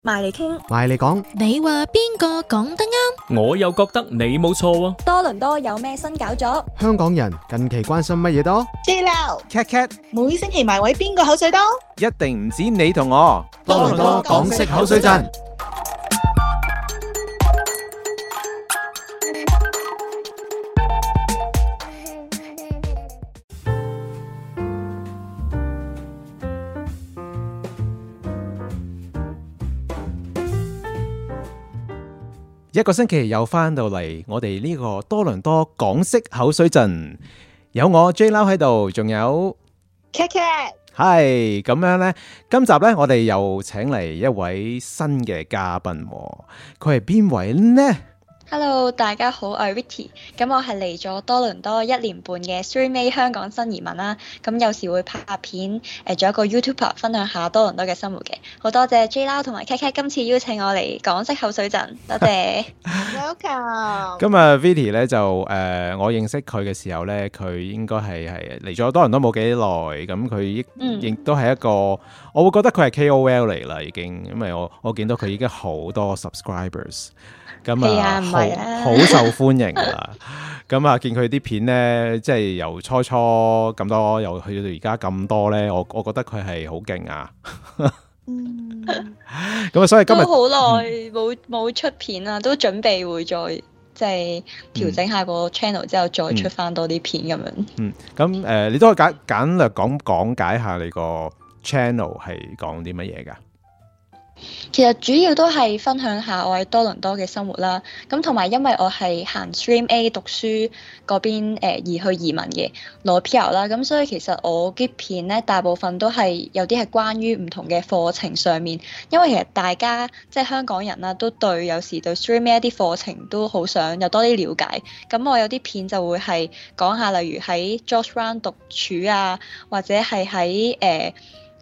埋嚟傾， 埋嚟講， 你話邊個講得啱？ 我又覺得你冇錯喎。 多倫多有咩新搞作？ 香港人近期關心乜嘢多？ JLau Kat Kat 每星期埋位邊個口水多？ 一定唔止你同我。 多倫多港式口水陣。 一個星期又翻到嚟，我哋呢個多倫多港式口水陣，有我 JLau 喺度，仲有 Kat Kat 係咁樣呢。今集呢，我哋又請嚟一位新嘅嘉賓，佢係邊位呢？ Hello， 大家好，我係 Vicky。咁我係嚟咗多倫多1年半嘅 Stream A 香港新移民啦。咁有時會拍片，做一個 YouTuber 分享下多倫多嘅生活嘅。好多謝 JLau 同埋 Kat Kat 今次邀請我嚟港式口水陣，多謝。 Welcome。 咁啊 Vicky 咧就我認識佢嘅時候咧，佢應該係嚟咗多倫多冇幾耐，咁佢亦都係一個，我會覺得佢係 KOL 嚟啦，已經，因為我見到佢已經好多 subscribers。咁好受歡迎噶啦，咁啊見佢啲片咧，即係由初咁多，又去到而家咁多咧，我覺得佢係好勁啊！咁啊，所以今日都好耐冇出片啦，都準備會再即係調整下個 channel 之後再出翻多啲片咁樣。 咁你都可以簡略講解下你個 channel 係講啲乜嘢噶？ 其實主要都係分享下我喺多倫多嘅生活啦，咁同埋因為我係行 Stream A 讀書嗰邊而去移民嘅攞 PR 啦，咁所以其實我啲片咧大部分都係有啲係關於唔同嘅課程上面，因為其實大家即係香港人啦，都有時對 Stream A 一啲課程都好想有多啲了解，咁我有啲片就會係講下例如喺 George Brown 讀書啊，或者係喺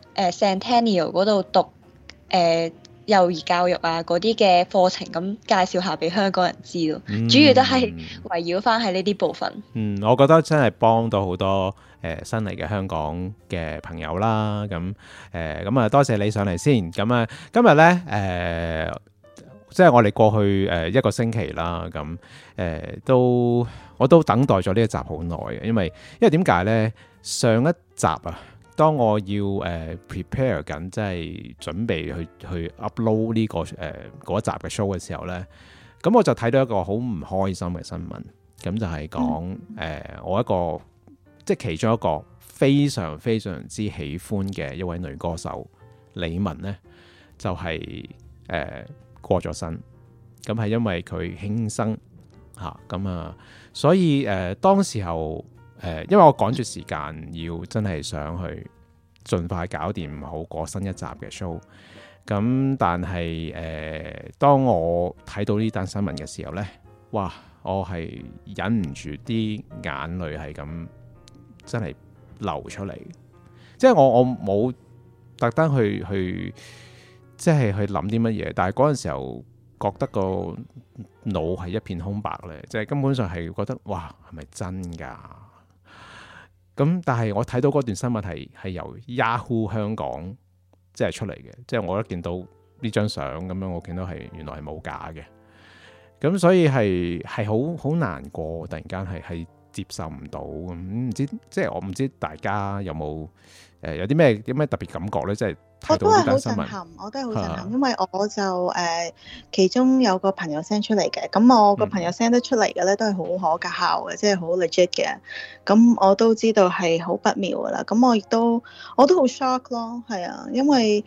Centennial 嗰度讀幼兒教育啊嗰啲嘅課程，咁介紹下俾香港人知咯。主要都係圍繞翻喺呢啲部分。 我覺得真係幫到好多新嚟嘅香港嘅朋友啦。咁啊，多謝你上嚟先。咁啊，今日咧即係我哋過去一個星期啦。咁我都等待咗呢一集好耐嘅，因為點解咧？上一集啊。當我要prepare 緊，即係準備去 upload 呢個嗰一集嘅 show 嘅時候咧，咁我就睇到一個好唔開心嘅新聞，咁就係講我一個即係其中一個非常非常之喜歡嘅一位女歌手李玟咧，就係過咗身，咁係因為佢輕生嚇，咁啊，所以當時候。因為我趕住時間，要真係想去盡快搞掂好過新一集嘅 show。咁但係當我睇到呢單新聞嘅時候呢，哇！我係忍唔住啲眼淚係咁真係流出嚟。即係我冇特登去即係去諗啲乜嘢，但係嗰陣時候覺得個腦係一片空白咧，即係根本上係覺得哇，係咪真㗎？咁但係我睇到嗰段新聞係由 Yahoo 香港即係出嚟嘅，即係我一見到呢張相咁樣，我見到係原來係冇假嘅，咁所以係好難過，突然間係接受唔到咁，唔知即係我唔知大家有冇有啲咩特別感覺咧？即係睇到呢單新聞， 我都係好震撼，因為我就其中有個朋友 send 出嚟嘅，咁我個朋友 send 得出嚟嘅咧都係好可靠嘅，即係好 legit 嘅，咁我都知道係好不妙噶啦，咁我都好 shock 咯，係啊，因為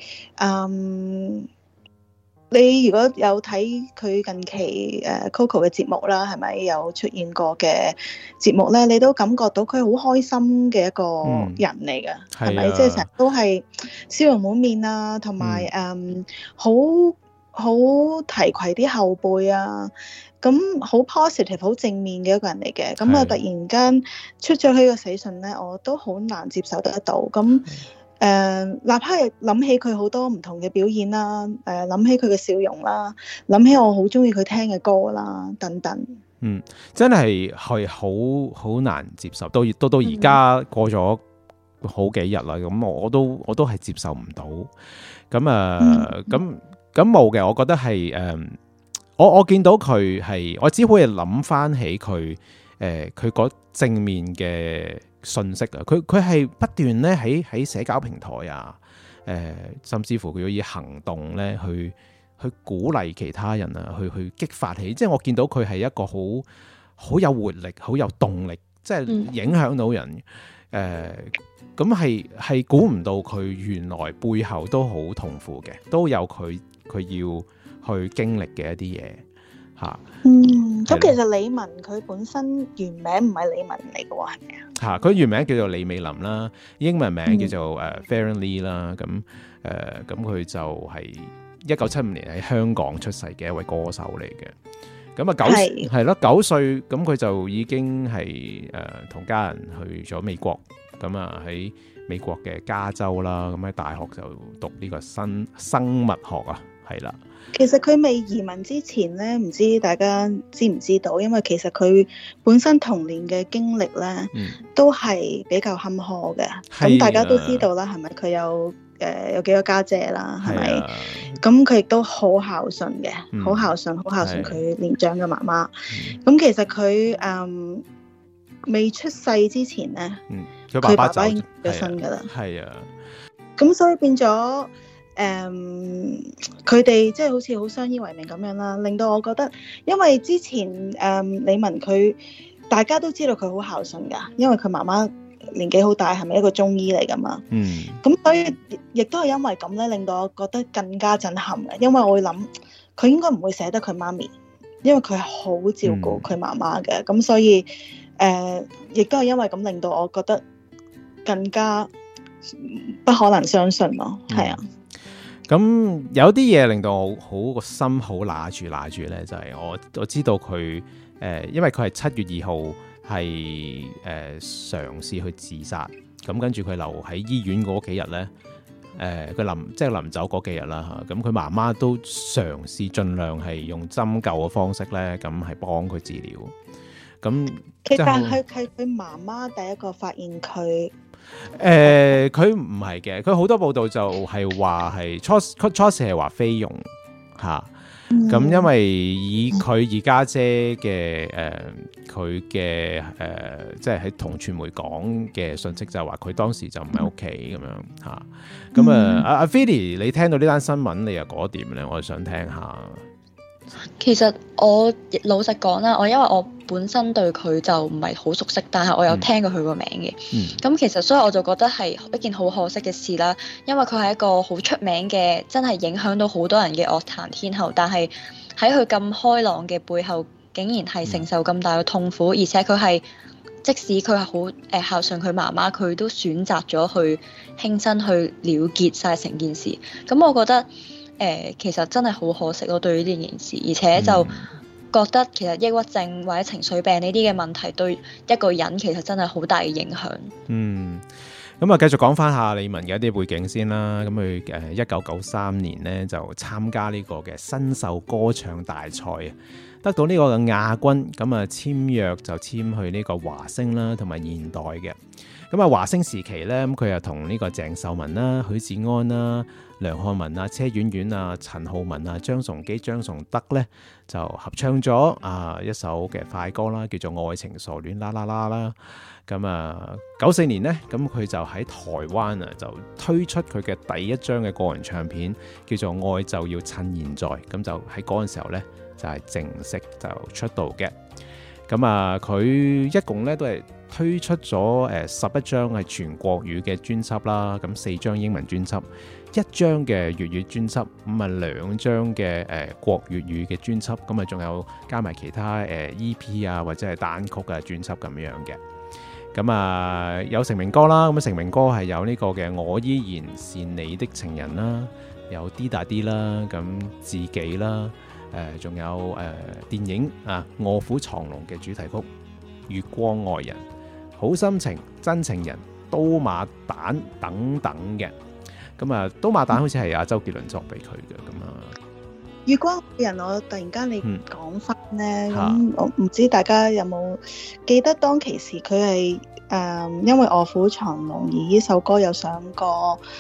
你如果有睇佢近期Coco 嘅節目啦，係咪有出現過嘅節目咧？你都感覺到佢好開心嘅一個人嚟㗎，係咪？即係成日都係笑容滿面啊，同埋好提攜啲後輩啊，咁好 positive 好正面嘅一個人嚟嘅。咁啊，突然間出咗佢個死訊咧，我都好難接受得到。咁立刻諗起佢好多唔同嘅表演啦，諗起佢嘅笑容啦，諗起我好中意佢聽嘅歌啦，等等。 真係好難接受，到而家過咗好幾日啦，咁我都係接受唔到。咁咁冇嘅，我覺得係我見到佢係，我只可以諗翻起佢佢嗰正面嘅信息啊！佢係不斷咧喺社交平台啊，甚至乎佢要以行動咧去鼓勵其他人啊，去激發起，即係我見到佢係一個好有活力、好有動力，即係影響到人。咁係估唔到佢原來背後都好痛苦嘅，都有佢要去經歷嘅一啲嘢嚇。 咁其實李玟佢本身原名唔係李玟嚟嘅喎，係咪啊？嚇， 佢原名叫做李美琳啦，英文名叫做Farron Lee 啦。咁佢就係1975年喺香港出世嘅一位歌手嚟嘅。咁啊9歲，咁佢就已經係同家人去咗美國。咁啊喺美國嘅加州啦，咁喺大學就讀呢個生物學啊，係啦。 其實佢未移民之前咧，唔知大家知唔知道？因為其實佢本身童年嘅經歷咧，都係比較坎坷嘅。咁大家都知道啦，係咪？佢有幾個家姐啦，係咪？咁佢亦都好孝順嘅，好孝順佢年長嘅媽媽。咁其實佢未出世之前咧，佢爸爸已經過咗身㗎啦。係啊，咁所以變咗。佢哋即係好似好相依為命咁樣啦，令到我覺得，因為之前李玟佢大家都知道佢好孝順噶，因為佢媽媽年紀好大，係咪一個中醫嚟噶嘛？咁所以亦都係因為咁咧，令到我覺得更加震撼嘅，因為我會諗佢應該唔會捨得佢媽咪，因為佢係好照顧佢媽媽嘅，咁所以亦都係因為咁令到我覺得更加不可能相信咯，係啊。 咁有啲嘢令到我好個心好揦住咧，就係我知道佢因為佢係7月2號係嘗試去自殺，咁跟住佢留喺醫院嗰幾日咧，佢臨走嗰幾日啦嚇，咁佢媽媽都嘗試盡量係用針灸嘅方式咧，咁係幫佢治療。咁其實係佢媽媽第一個發現佢。 佢唔係嘅，佢好多報道就係話係初時係話菲傭嚇，咁因為以佢二家姐嘅佢嘅即係喺同傳媒講嘅信息就係話佢當時就唔喺屋企咁樣嚇，咁阿 Philly 你聽到呢單新聞你又覺得點咧？我就想聽下。 其實我老實講啦，因為我本身對佢就唔係好熟悉，但係我有聽過佢個名嘅。咁其實所以我就覺得係一件好可惜嘅事啦，因為佢係一個好出名嘅，真係影響到好多人嘅樂壇天后。但係喺佢咁開朗嘅背後，竟然係承受咁大嘅痛苦，而且佢係即使佢係好孝順佢媽媽，佢都選擇咗去輕生去了結晒成件事。咁我覺得其實真係好可惜咯，對於呢件事，而且就覺得其實抑鬱症或者情緒病呢啲嘅問題對一個人其實真係好大嘅影響。 咁啊，繼續講翻下李玟嘅一啲背景先啦。咁佢1993年呢就參加呢個嘅新秀歌唱大賽啊，得到呢個嘅亞軍。咁啊簽約就簽去呢個華星啦，同埋現代嘅。咁啊華星時期咧，咁佢又同呢個鄭秀文啦、許志安啦、梁漢文啊、車婉婉啊、陳浩文啊、張崇基、張崇德咧就合唱咗一首嘅快歌啦，叫做《愛情傻戀啦啦啦》啦。咁啊94年咧，咁佢就喺台灣啊就推出佢嘅第一張嘅個人唱片，叫做《愛就要趁現在》。咁就喺嗰陣時候咧就係正式就出道嘅。咁啊佢一共咧都係推出咗11張係全國語嘅專輯啦，咁4張英文專輯，1張嘅粵語專輯，咁啊2張嘅國粵語嘅專輯，咁啊仲有加埋其他EP 啊或者係單曲嘅專輯咁樣嘅。咁啊有成名歌啦，咁成名歌係有呢個嘅我依然是你的情人啦，有啲大啲啦，咁自己啦，仲有電影啊臥虎藏龍嘅主題曲月光愛人、好心情、真情人、刀馬旦等等嘅。咁啊刀馬旦好似係阿周杰倫作俾佢嘅。咁啊月光愛人，我突然間你講翻咧，咁我唔知大家有冇記得當其時佢係因為臥虎藏龍而呢首歌有上過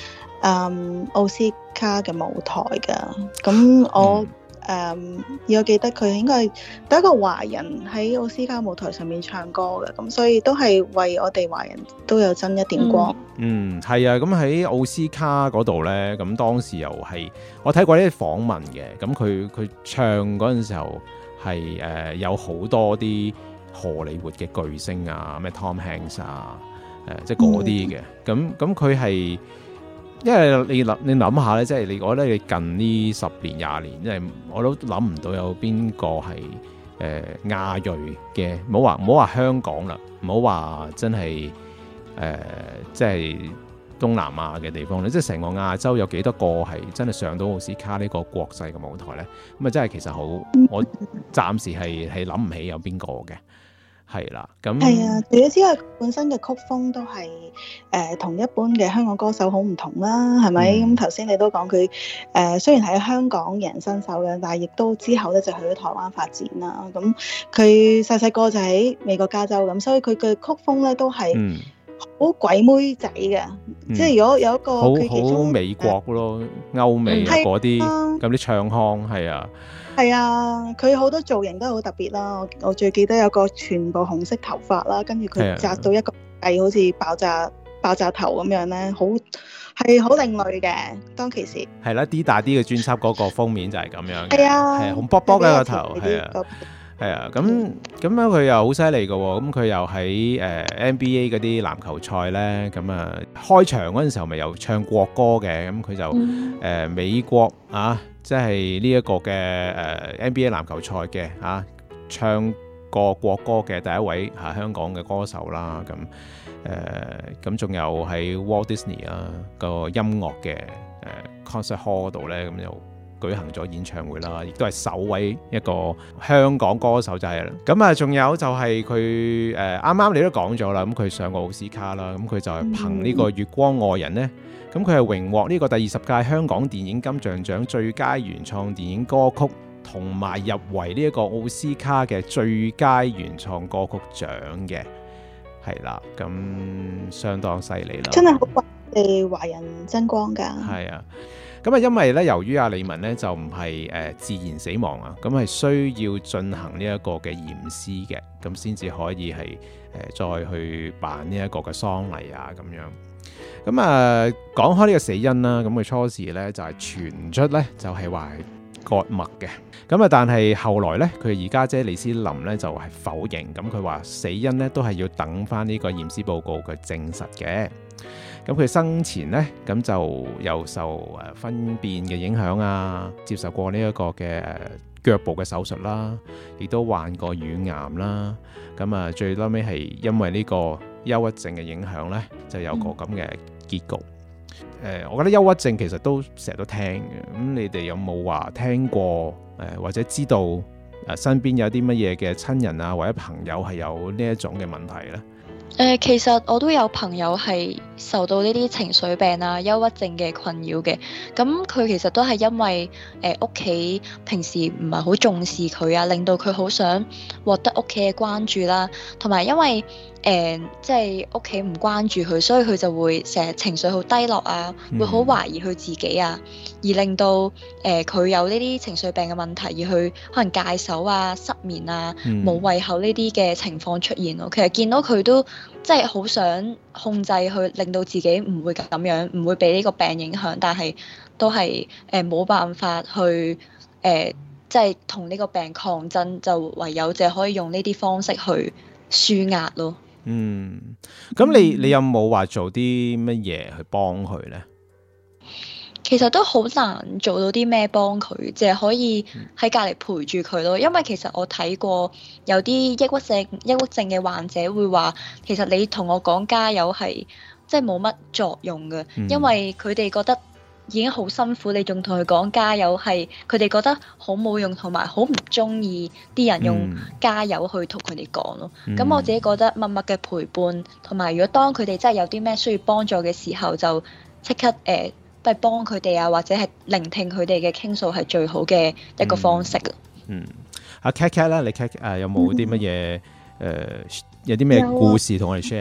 奧斯卡嘅舞台㗎。咁我我記得佢應該係第一個華人喺奧斯卡舞台上面唱歌嘅，咁所以都係為我哋華人都有增一點光。 係啊，咁喺奧斯卡嗰度呢，咁當時又係我睇過呢啲訪問嘅，咁佢唱嗰陣時候係有好多啲荷里活嘅巨星啊，咩 Tom Hanks 啊，即係嗰啲嘅，咁佢係。因為你諗下咧，即係我覺得你近呢10年20年，即係我都諗唔到有邊個係亞裔嘅，唔好話香港啦，唔好話真係即係東南亞嘅地方咧，即係成個亞洲有幾多個係真係上到奧斯卡呢個國際嘅舞台咧？咁啊，真係其實好，我暫時係諗唔起有邊個嘅。係啦，咁係啊，除咗之外，本身嘅曲風都係同一般嘅香港歌手好唔同啦，係咪？咁頭先你都講佢雖然係香港人新手嘅，但係亦都之後咧就去咗台灣發展啦。咁佢細個就喺美國加州咁，所以佢嘅曲風咧都係好鬼妹仔嘅，即係如果有一個佢其中好美國咯，歐美嗰啲咁啲唱腔係啊。 係啊，佢好多造型都好特別啦。我最記得有個全部紅色頭髮啦，跟住佢紮到一個好似爆炸頭咁樣咧，係好另類嘅。當其時係啦，D 大啲嘅專輯嗰個封面就係咁樣嘅， 係啊， 係紅卜卜嘅個頭，係啊，咁樣佢又好犀利嘅喎。咁佢又喺NBA 嗰啲籃球賽咧，咁啊開場嗰陣時候咪又唱國歌嘅，咁佢就美國啊。即係呢一個嘅NBA 籃球賽嘅唱過國歌嘅第一位香港嘅歌手啦，咁仲有喺 Walt Disney 個音樂嘅concert hall 度咧，咁又舉行咗演唱會啦，亦都係首位一個香港歌手就係啦。咁啊，仲有就係佢啱啱你都講咗啦，咁佢上過奧斯卡啦，咁佢就係憑呢個月光愛人咧。咁佢係榮獲呢個第20屆香港電影金像獎最佳原創電影歌曲，同埋入圍呢一個奧斯卡嘅最佳原創歌曲獎嘅，係啦，咁相當犀利啦， 真係好為我哋華人爭光㗎。係啊，咁啊，因為咧，由於阿李玟咧就唔係自然死亡啊，咁係需要進行呢一個嘅驗屍嘅，咁先至可以係再去辦呢一個嘅喪禮啊，咁樣。咁啊，講開呢個死因啦，咁佢初時咧就係傳出咧就係話係割脈嘅，咁啊，但係後來咧佢二家姐李思琳咧就係否認，咁佢話死因咧都係要等翻呢個驗屍報告佢證實嘅。咁佢生前咧咁就又受糞便嘅影響啊，接受過呢一個嘅腳部嘅手術啦，亦都患過乳癌啦，咁啊最後尾係因為呢個憂鬱症嘅影響咧，就有個咁嘅結局。我覺得憂鬱症其實都成日都聽嘅，咁你哋有冇話聽過或者知道身邊有啲乜嘢嘅親人啊或者朋友係有呢一種嘅問題咧？ 其實我都有朋友係受到呢啲情緒病啊、憂鬱症嘅困擾嘅。咁佢其實都係因為屋企平時唔係好重視佢啊，令到佢好想獲得屋企嘅關注啦。同埋因為即係屋企唔關注佢，所以佢就會成日情緒好低落啊，會好懷疑佢自己啊，而令到佢有呢啲情緒病嘅問題，而去可能戒手啊、失眠啊、冇胃口呢啲嘅情況出現咯。其實見到佢都即係好想控制去令到自己唔會咁樣，唔會俾呢個病影響，但係都係冇辦法去即係同呢個病抗爭，就唯有就可以用呢啲方式去舒壓咯。 咁你有冇話做啲乜嘢去幫佢呢？ 其實都好難做到啲咩幫佢，淨係可以喺隔離陪住佢咯。因為其實我睇過有啲抑鬱症嘅患者會話，其實你同我講加油係即係冇乜作用嘅，因為佢哋覺得已經好辛苦，你仲同佢講加油，係佢哋覺得好冇用，同埋好唔中意啲人用加油去同佢哋講咯。咁我自己覺得默默嘅陪伴，同埋如果當佢哋真係有啲咩需要幫助嘅時候，就即刻都係幫佢哋啊，或者係聆聽佢哋嘅傾訴係最好嘅一個方式。 阿 Kat 咧，你 Kat 有冇啲乜嘢有啲咩故事同我哋 share 啊？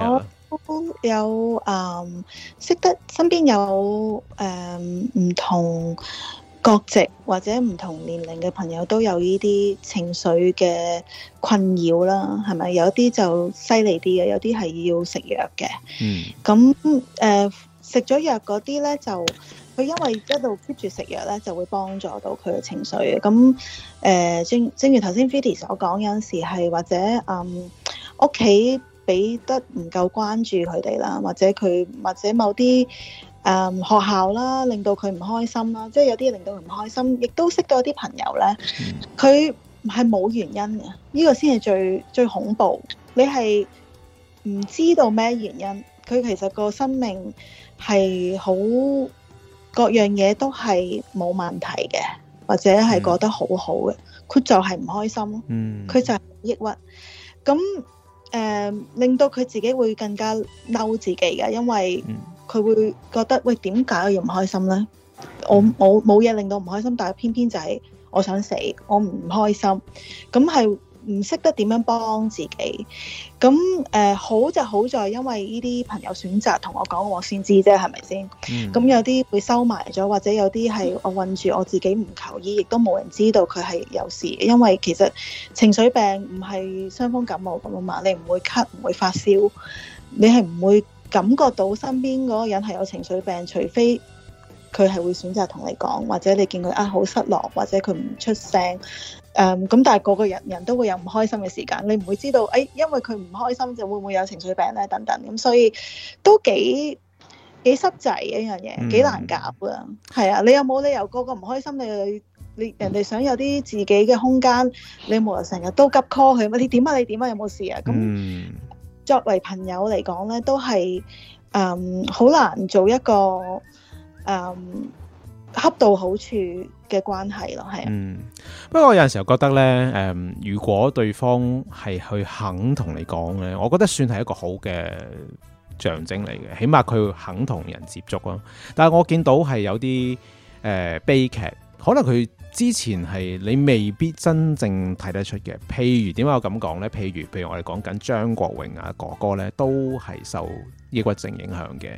有識得身邊有唔同國籍或者唔同年齡嘅朋友都有呢啲情緒嘅困擾啦，係咪？有啲就犀利啲嘅，有啲係要食藥嘅。咁食咗藥嗰啲咧，就佢因為一路 keep 住食藥咧，就會幫助到佢嘅情緒嘅。咁正如頭先 Vidi 所講，有陣時係或者屋企俾得唔夠關注佢哋啦，或者某啲學校啦，令到佢唔開心啦，即係有啲令到佢唔開心，亦都識到一啲朋友咧，佢係冇原因嘅，呢個先係最恐怖。你係唔知道咩原因，佢其實個生命係好各樣嘢都係冇問題嘅，或者係過得好好嘅，佢就係唔開心咯，佢就係抑鬱，咁令到佢自己會更加嬲自己嘅，因為佢會覺得喂，點解我要唔開心呢？我冇嘢令到唔開心，但係偏偏就係我想死，我唔開心，咁係唔識得點樣幫自己。咁好就好在，因為呢啲朋友選擇同我講，我先知啫，係咪先？咁有啲會收埋咗，或者有啲係我困住我自己唔求醫，亦都冇人知道佢係有事。因為其實情緒病唔係傷風感冒咁啊嘛，你唔會咳，唔會發燒，你係唔會感覺到身邊嗰個人係有情緒病，除非佢係會選擇同你講，或者你見佢好失落，或者佢唔出聲。咁但係個人都會有唔開心嘅時間，你唔會知道因為佢唔開心就會唔會有情緒病咧等等。咁所以都幾濕滯嘅一樣嘢，幾難搞噶。係啊，你有冇理由個唔開心，你人哋想有啲自己嘅空間，你冇人成日都急 call 佢，你點啊有冇事啊？咁作為朋友嚟講咧，都係好難做一個恰到好處嘅關係咯，係啊。 不過我有陣時候覺得咧，如果對方係去肯同你講咧，我覺得算係一個好嘅象徵嚟嘅，起碼佢肯同人接觸咯。但係我見到係有啲悲劇，可能佢之前係你未必真正睇得出嘅。譬如點解我咁講咧？譬如我哋講緊張國榮哥哥咧，都係受抑鬱症影響嘅。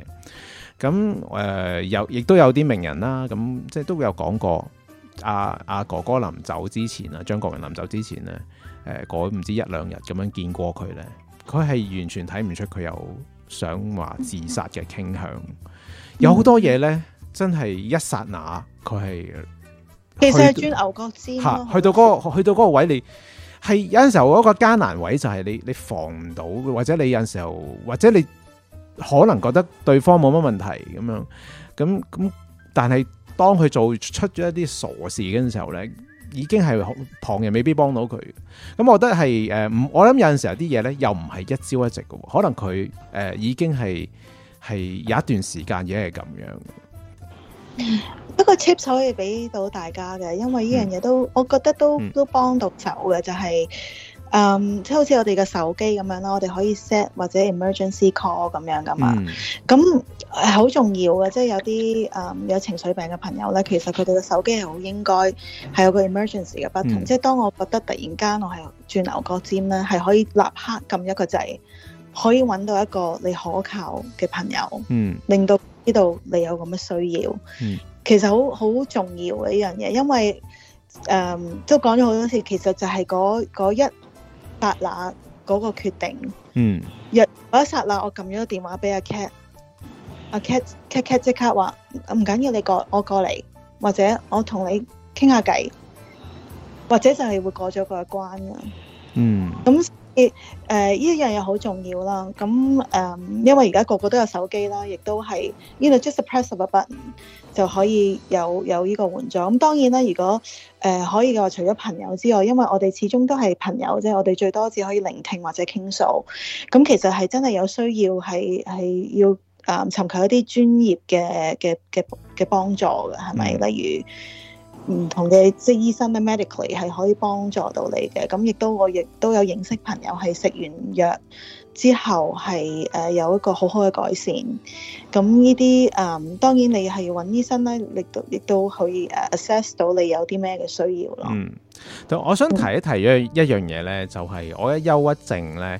咁亦都有啲名人啦，咁即係都有講過阿哥哥臨走之前啊，張國榮臨走之前咧，嗰唔知一兩日咁樣見過佢咧，佢係完全睇唔出佢有想話自殺嘅傾向。有好多嘢咧，真係一剎那佢係其實係轉牛角尖咯。去到嗰個位，你係有陣時候嗰個艱難位就係你防唔到，或者你有陣時候或者你可能覺得對方冇乜問題咁樣，咁但係當佢做出咗一啲傻事嘅時候咧，已經係旁人未必幫到佢。咁我覺得係我諗有陣時候啲嘢咧，又唔係一朝一夕嘅，可能佢已經係有一段時間已經係咁樣。 一個 tips 可以俾到大家嘅，因為呢樣嘢都我覺得都幫到手嘅，就係即係好似我哋嘅手機咁樣啦，我哋可以 set 或者 emergency call 咁樣噶嘛。咁係好重要嘅，即係有啲有情緒病嘅朋友咧，其實佢哋嘅手機係好應該係有個 emergency 嘅 button，即係當我覺得突然間我係轉牛角尖咧，係可以立刻撳一個掣，可以揾到一個你可靠嘅朋友，令到知道你有咁嘅需要。其實好重要嘅呢樣嘢，因為都講咗好多次，其實就係嗰一剎那嗰個決定。嗰一剎那我撳咗個電話俾阿 Cat， 阿 Cat 即刻話唔緊要，我過嚟，或者我同你傾下偈，或者就係會過咗嗰一關㗎。咁呢樣嘢好重要啦。咁因為而家個個都有手機啦，亦都係just a press of a button 就可以有呢個援助。咁當然啦，如果可以嘅話，除咗朋友之外，因為我哋始終都係朋友啫，我哋最多只可以聆聽或者傾訴。咁其實係真係有需要係要尋求一啲專業嘅幫助嘅，係咪？例如唔同嘅即係醫生咧 medically 係可以幫助到你嘅。咁我亦都有認識朋友係食完藥之後係有一個好好嘅改善。咁呢啲當然你係要揾醫生咧，亦都可以assess 到你有啲咩嘅需要咯。 我想提一提一樣嘢咧，就係我嘅憂鬱症咧，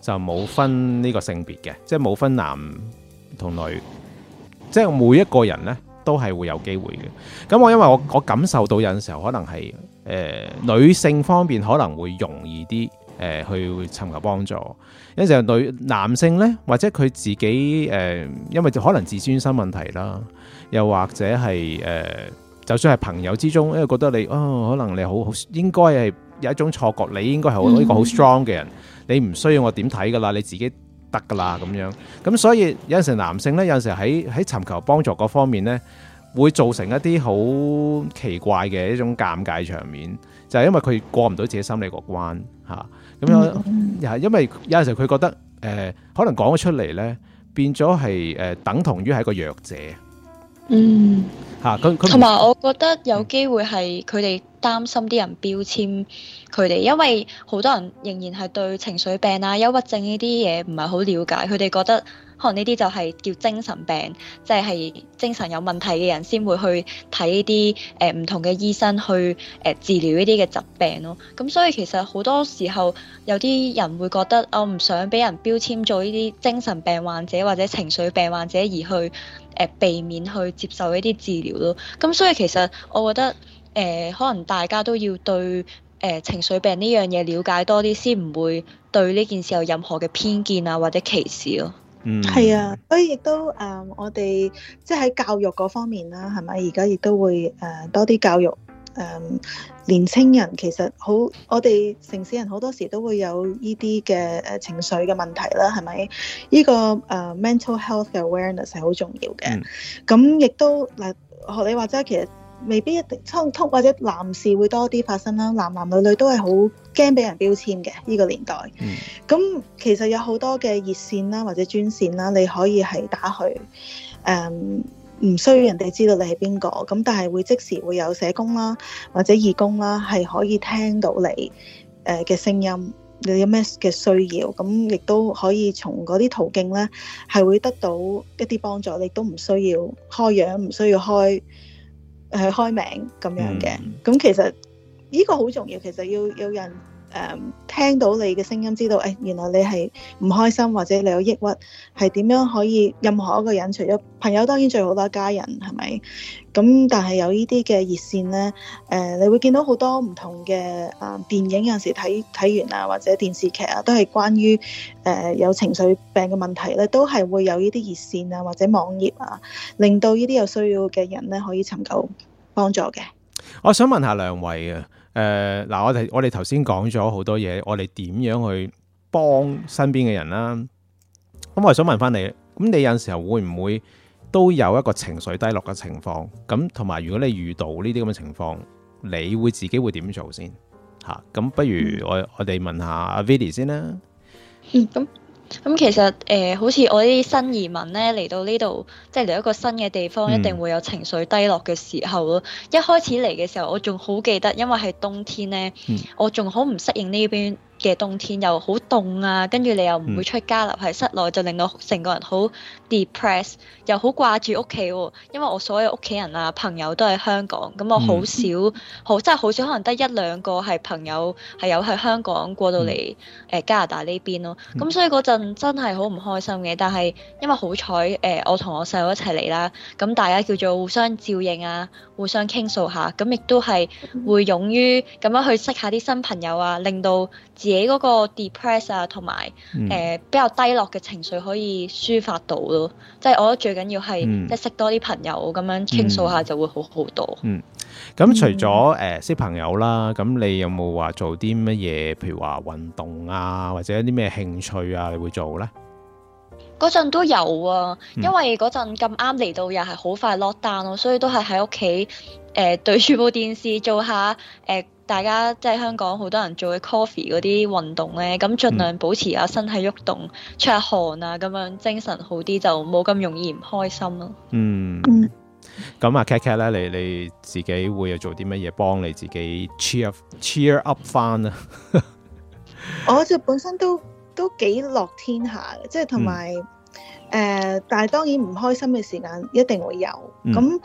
就冇分呢個性別嘅，即係冇分男同女，即係每一個人呢都係會有機會嘅。咁因為我感受到有陣時候可能係女性方面可能會容易啲去尋求幫助，有陣時候男性呢，或者佢自己因為可能自尊心問題啦，又或者係就算係朋友之中，因為覺得你可能你好應該係有一種錯覺，你應該係一個好 strong 嘅人，你唔需要我點睇噶啦，你自己得噶啦咁樣。咁所以有陣時男性呢，有陣時喺尋求幫助嗰方面呢，會造成一啲好奇怪嘅一種尷尬場面，就係因為佢過唔到自己心理個關嚇。咁樣又係因為有陣時佢覺得可能講咗出嚟呢，變咗係等同於係一個弱者。嚇， 同埋我覺得有機會係佢哋擔心啲人標籤佢哋，因為好多人仍然係對情緒病啊、憂鬱症呢啲嘢唔係好了解，佢哋覺得可能呢啲就係叫精神病，即係精神有問題嘅人先會去睇呢啲唔同嘅醫生去治療呢啲嘅疾病咯。咁所以其實好多時候有啲人會覺得我唔想俾人標籤做呢啲精神病患者或者情緒病患者，而去避免去接受呢啲治療咯。咁所以其實我覺得可能大家都要對情緒病呢樣嘢了解多啲，先唔會對呢件事有任何嘅偏見啊或者歧視咯。 係啊，所以亦都我哋即係喺教育嗰方面啦，係咪？而家亦都會多啲教育年青人。其實好，我哋城市人好多時都會有呢啲嘅情緒嘅問題啦，係咪？呢個mental health awareness 係好重要嘅。咁亦都嗱，學你話齋，其實未必一定通或者男士會多啲發生啦，男男女女都係好驚俾人標籤嘅呢個年代。咁其實有好多嘅熱線啦或者專線啦，你可以係打去，唔需要人哋知道你係邊個，咁但係會即時會有社工啦或者義工啦，係可以聽到你嘅聲音，你有咩嘅需要，咁亦都可以從嗰啲途徑咧係會得到一啲幫助，你都唔需要開樣，唔需要開名咁樣嘅。咁其實呢個好重要，其實要有人聽到你嘅聲音，知道原來你係唔開心或者你有抑鬱，係點樣可以任何一個人，除咗朋友當然最好啦，家人係咪？咁但係有呢啲嘅熱線呢，你會見到好多唔同嘅電影，有陣時睇完啊或者電視劇啊，都係關於有情緒病嘅問題咧，都係會有呢啲熱線啊或者網頁啊，令到呢啲有需要嘅人咧可以尋求幫助嘅。 我想問下兩位啊。嗱，我哋頭先講咗好多嘢，我哋點樣去幫身邊嘅人啦？咁我想問翻你，咁你有陣時候會唔會都有一個情緒低落嘅情況？咁同埋，如果你遇到呢啲咁嘅情況，你會自己會點做先？嚇，咁不如我哋問下阿 Vidi 先啦。 咁其實好似我啲新移民咧嚟到呢度，即係嚟一個新嘅地方，一定會有情緒低落嘅時候咯。一開始嚟嘅時候，我仲好記得，因為係冬天咧，我仲好唔適應呢邊嘅冬天，又好凍啊，跟住你又唔會出街，留喺室內，就令到成個人好 depress， 又好掛住屋企喎。因為我所有屋企人啊朋友都喺香港，咁我好少，真係好少，可能得一兩個係朋友係有喺香港過到嚟加拿大呢邊咯。咁所以嗰陣真係好唔開心嘅。但係因為好彩我同我細佬一齊嚟啦，咁大家叫做互相照應啊，互相傾訴下，咁亦都係會勇於咁樣去識下啲新朋友啊，令到自己嗰個 depress 啊，同埋比較低落嘅情緒可以抒發到咯。即係我覺得最緊要係即係識多啲朋友咁樣傾訴下就會好好多。 咁除咗識朋友啦，咁你有冇話做啲乜嘢？譬如話運動啊，或者啲咩興趣啊，你會做咧？ 嗰陣都有啊，因為嗰陣咁啱嚟到又係好快 lock down 咯，所以都係喺屋企對住部電視做下大家即係香港好多人做嘅 coffee 嗰啲運動咧，咁盡量保持下身體喐動，出下汗啊，咁樣精神好啲，就冇咁容易唔開心咯。 咁啊 Kat 咧，你自己會有做啲乜嘢幫你自己 cheer up 翻啊？ 我就本身都幾樂天下嘅，即係同埋但係當然唔開心嘅時間一定會有。咁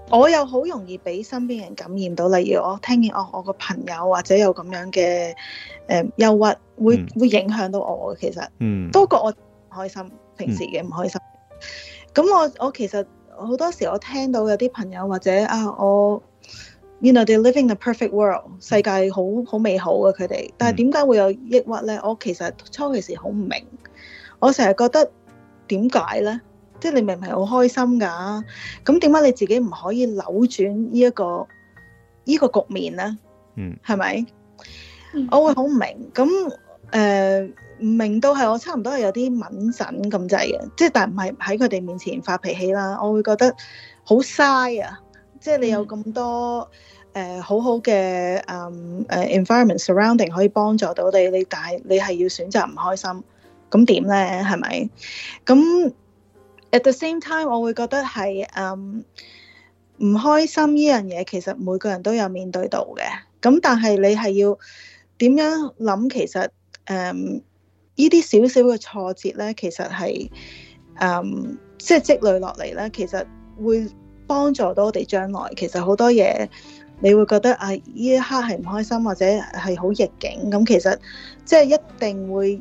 我又好容易俾身邊人感染到，例如我聽見我個朋友或者有咁樣嘅憂鬱，會影響到我嘅，其實多過我唔開心，平時嘅唔開心。咁我其實好多時我聽到有啲朋友或者我 you know they're living the perfect world， 世界好美好嘅佢哋，但係點解會有抑鬱咧？我其實初期時好唔明，我成日覺得點解咧？即係你明明係好開心㗎，咁點解你自己唔可以扭轉呢一個局面咧？係咪？我會好唔明，咁唔明到係我差唔多係有啲敏感咁滯嘅，即係但係唔係喺佢哋面前發脾氣啦，我會覺得好嘥啊！即係你有咁多好好嘅environment surrounding 可以幫助到你，但係你係要選擇唔開心，咁點咧？係咪？咁At the same time， 我會覺得係唔開心呢樣嘢，其實每個人都有面對到嘅。咁但係你係要點樣諗？其實呢啲少少嘅挫折咧，其實係即係積累落嚟咧，其實會幫助到我哋將來。其實好多嘢你會覺得呢一刻係唔開心或者係好逆境，咁其實即係一定會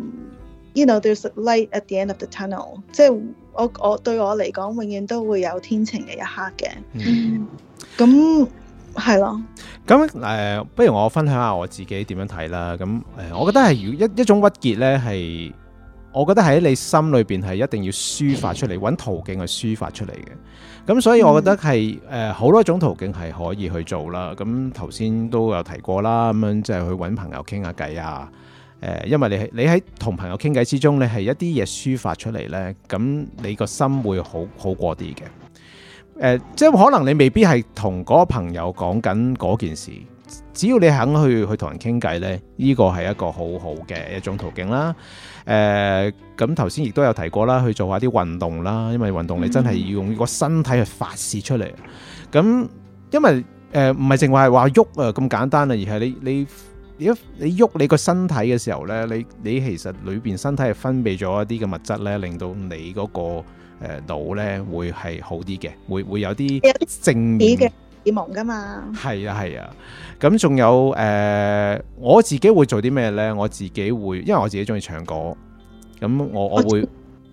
you know there's a light at the end of the tunnel， 即係我對我嚟講，永遠都會有天晴嘅一刻嘅。咁係咯。 咁不如我分享下我自己點樣睇啦。咁我覺得係一種鬱結咧，係我覺得喺你心裏邊係一定要抒發出嚟，揾途徑去抒發出嚟嘅。咁所以我覺得係好多種途徑係可以去做啦。咁頭先都有提過啦，咁樣即係去揾朋友傾下偈啊。因為你喺同朋友傾偈之中，你係一啲嘢抒發出嚟呢，咁你個心會好過啲嘅。即係可能你未必係同嗰個朋友講緊嗰件事，只要你肯去同人傾偈呢，呢個係一個好好嘅一種途徑啦。咁頭先亦都有提過啦，去做下啲運動啦，因為運動你真係要用個身體去發泄出嚟。咁因為唔係淨話係話喐咁簡單啊，而係你喐你個身體嘅時候咧，你其實裏邊身體係分泌咗一啲嘅物質咧，令到你嗰個腦咧會係好啲嘅，會有啲正面嘅荷爾蒙噶嘛。係啊，咁仲有我自己會做啲咩咧？我自己會，因為我自己中意唱歌，咁我會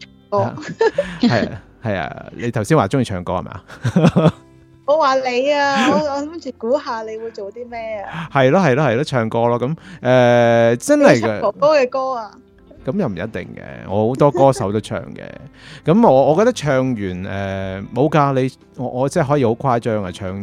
係啊，你頭先話中意唱歌係咪啊？ 我話你啊，我諗住估下你會做啲咩啊？係咯，唱歌咯。咁真係嘅哥哥嘅歌啊？ 咁又唔一定嘅，我好多歌手都唱嘅。咁我覺得唱完冇㗎，你我真係可以好誇張啊，唱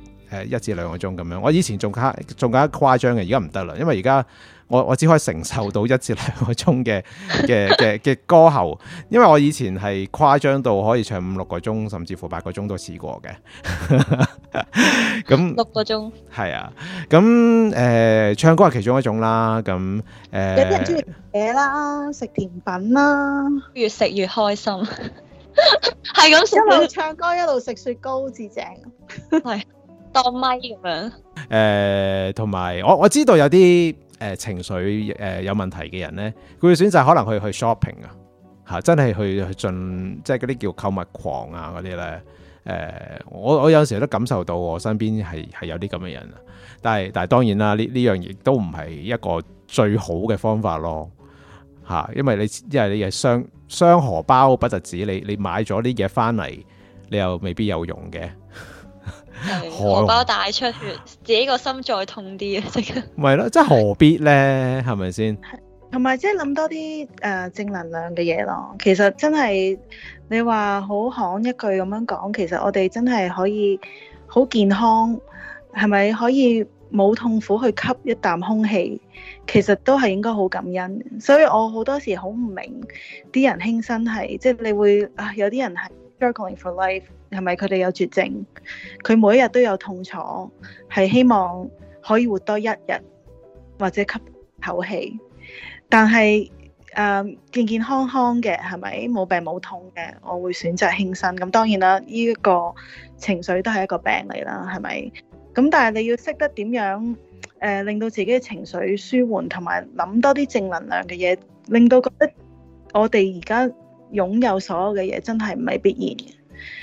1至2個鐘咁樣。我以前仲更加誇張嘅，而家唔得啦，因為而家我只可以承受到1至2個鐘嘅歌喉，因為我以前係誇張到可以唱5、6個鐘，甚至乎8個鐘都試過嘅。咁 6個鐘係啊，咁唱歌係其中一種啦。咁有啲人中意嘢啦，食甜品啦， 越食越開心，係咁一路唱歌一路食雪糕至正， 係當咪咁樣。 同埋我知道有啲情緒有問題嘅人咧，佢會選擇可能去 shopping 啊，真係去盡即係嗰啲叫購物狂啊嗰啲咧。我有時都感受到我身邊係有啲咁嘅人啊，但係當然啦，呢樣亦都唔係一個最好嘅方法咯嚇，因為你係傷荷包不特止，你買咗啲嘢翻嚟，你又未必有用嘅。 荷包大出血，自己個心再痛啲啊！即係咪咯，即係何必咧？係咪先？ 同埋即係諗多啲正能量嘅嘢咯。其實真係你話好行一句咁樣講，其實我哋真係可以好健康，係咪可以冇痛苦去吸一啖空氣？其實都係應該好感恩。所以我好多時好唔明啲人輕生係，即係你會有啲人係 struggling for life。係咪佢哋有絕症？佢每一日都有痛楚，係希望可以活多1日或者吸口氣。但係健健康康嘅，係咪冇病冇痛嘅？我會選擇輕生。咁當然啦，呢一個情緒都係一個病嚟啦，係咪？咁但係你要識得點樣令到自己嘅情緒舒緩，同埋諗多啲正能量嘅嘢，令到覺得我哋而家擁有所有嘅嘢真係唔係必然嘅。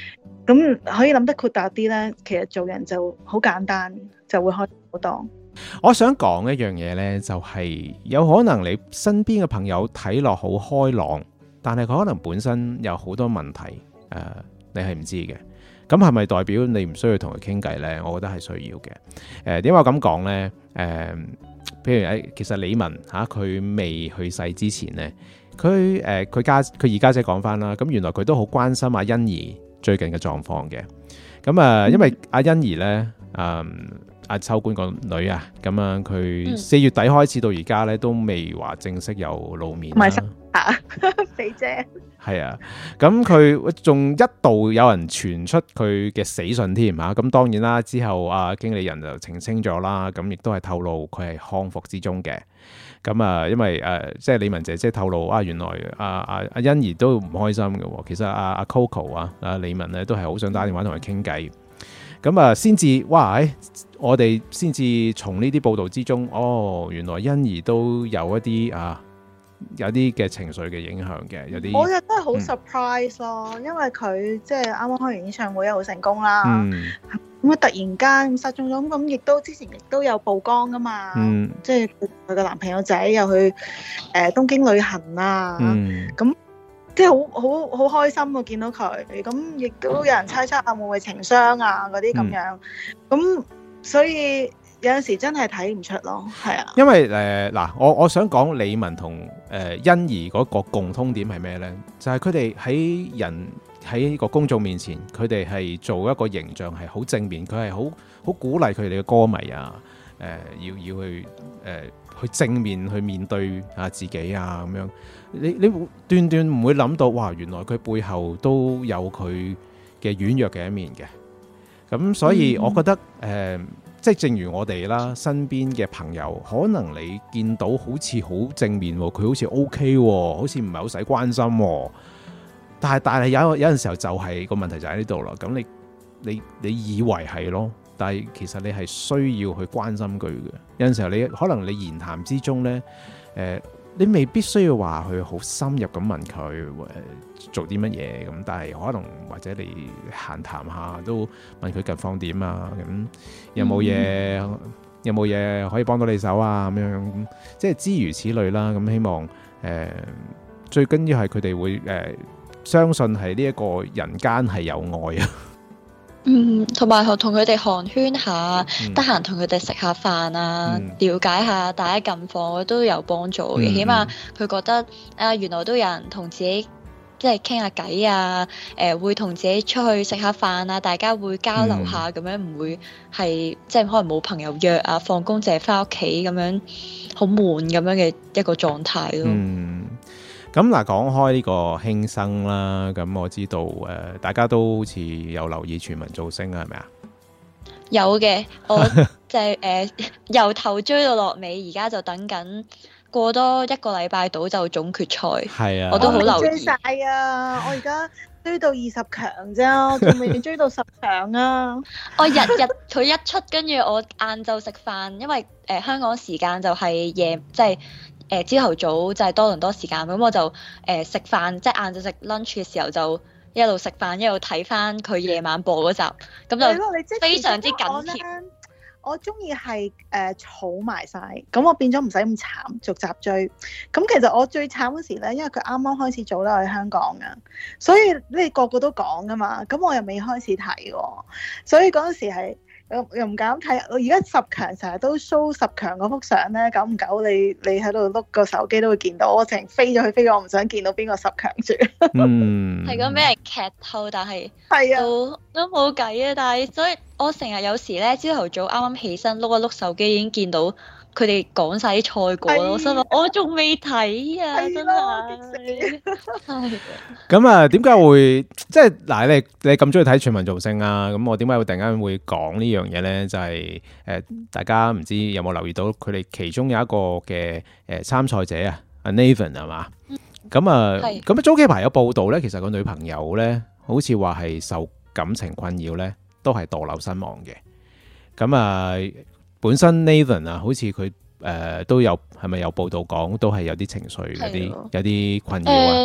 咁可以諗得豁達啲咧，其實做人就好簡單，就會開心好多。 我想講一樣嘢呢，就係有可能你身邊嘅朋友睇落好開朗，但係佢可能本身有好多問題，你係唔知嘅。咁係咪代表你唔需要同佢傾偈呢？我覺得係需要嘅。點解我咁講呢？譬如其實李玟佢未去世之前呢，佢二家姐講翻啦，咁原來佢都好關心阿欣宜最近嘅狀況嘅。咁因為阿欣宜呢。阿秋官個女啊，咁樣佢4月底開始到而家咧，都未話正式有露面啦。 肥姐係啊，咁佢仲一度有人傳出佢嘅死訊添嚇，咁當然啦，之後經理人就澄清咗啦，咁亦都係透露佢係康復之中嘅。咁因為即係李玟姐姐透露原來阿欣宜都唔開心嘅喎。其實阿 Coco 李玟咧都係好想打電話同佢傾偈。咁先至我哋先至從呢啲報道之中，原來欣宜都有一啲有啲嘅情緒嘅影響嘅，有啲我覺得好 surprise 咯，因為佢即係啱啱開完演唱會好成功啦，咁突然間失蹤咗，咁亦都之前亦都有曝光噶嘛，即係佢個男朋友仔又去東京旅行啊，咁。即係好開心喎，見到佢，咁亦都有人猜測會唔會情傷嗰啲咁樣，咁所以有陣時真係睇唔出咯，係啊。因為我想講李玟同欣宜嗰個共通點係咩呢？就係佢哋喺個公眾面前，佢哋係做一個形象係好正面，佢係好鼓勵佢哋嘅歌迷要去正面去面對自己咁樣。你斷斷唔會諗到，哇！原來佢背後都有佢嘅軟弱嘅一面嘅。咁所以我覺得即係正如我哋啦，身邊嘅朋友，可能你見到好似好正面，佢好似 OK，好似唔係好使關心。但係有陣時候就係個問題就喺呢度啦。咁你以為係咯，但係其實你係需要去關心佢嘅。有陣時候你可能你言談之中呢。你未必需要話去好深入咁問佢做啲乜嘢咁，但係可能或者你閒談下都問佢近況點啊，咁有冇嘢可以幫到你手啊，咁樣即係諸如此類啦。咁希望最緊要係佢哋會相信係呢一個人間係有愛啊。 同埋同佢哋寒暄下，得閒同佢哋食下飯啊，了解下大家近況都有幫助嘅。起碼佢覺得原來都有人同自己即係傾下偈啊，會同自己出去食下飯啊，大家會交流下咁樣，唔會係即係可能冇朋友約啊，放工淨係翻屋企咁樣好悶咁樣嘅一個狀態咯。 咁講開呢個輕生啦，咁我知道大家都好似有留意全民造星啊，係咪啊？ 有嘅，我就係由頭追到落尾，而家就等緊過多一個禮拜到就總決賽。係啊，我都好留意。追晒啊！我而家追到20強啫，仲未追到10強啊！ 我日佢一出，跟住我晏晝食飯，因為香港時間就係夜即係。朝頭早就係多倫多時間，咁我就食飯，即係晏晝食 lunch 嘅時候就一路食飯一路睇翻佢夜晚播嗰集，咁就非常之緊貼。 我中意係儲埋晒，咁我變咗唔使咁慘逐集追。咁其實我最慘嗰時咧，因為佢啱啱開始做啦，喺香港啊，所以你個個都講噶嘛，咁我又未開始睇喎，所以嗰陣時係。又唔敢睇，我而家10強成日都 show 10強嗰幅相咧，久唔久你喺度碌個手機都會見到，我成日飛咗去飛，我唔想見到邊個10強住。 係咁俾人劇透，但係都冇計啊！但係所以我成日有時咧，朝頭早啱啱起身碌一碌手機已經見到佢哋講晒啲賽果咯，我心諗我仲未睇啊，真係。 咁點解會即係嗱？你咁中意睇全民造星啊？咁我點解會突然間會講呢樣嘢咧？就係大家唔知有冇留意到佢哋其中有一個嘅參賽者啊，阿 Nathan 係嘛？咁早幾排有報道咧，其實個女朋友咧，好似話係受感情困擾咧，都係墮樓身亡嘅。咁本身 Nathan 好似佢都有係咪有報道講，都係有啲情緒有啲困擾啊？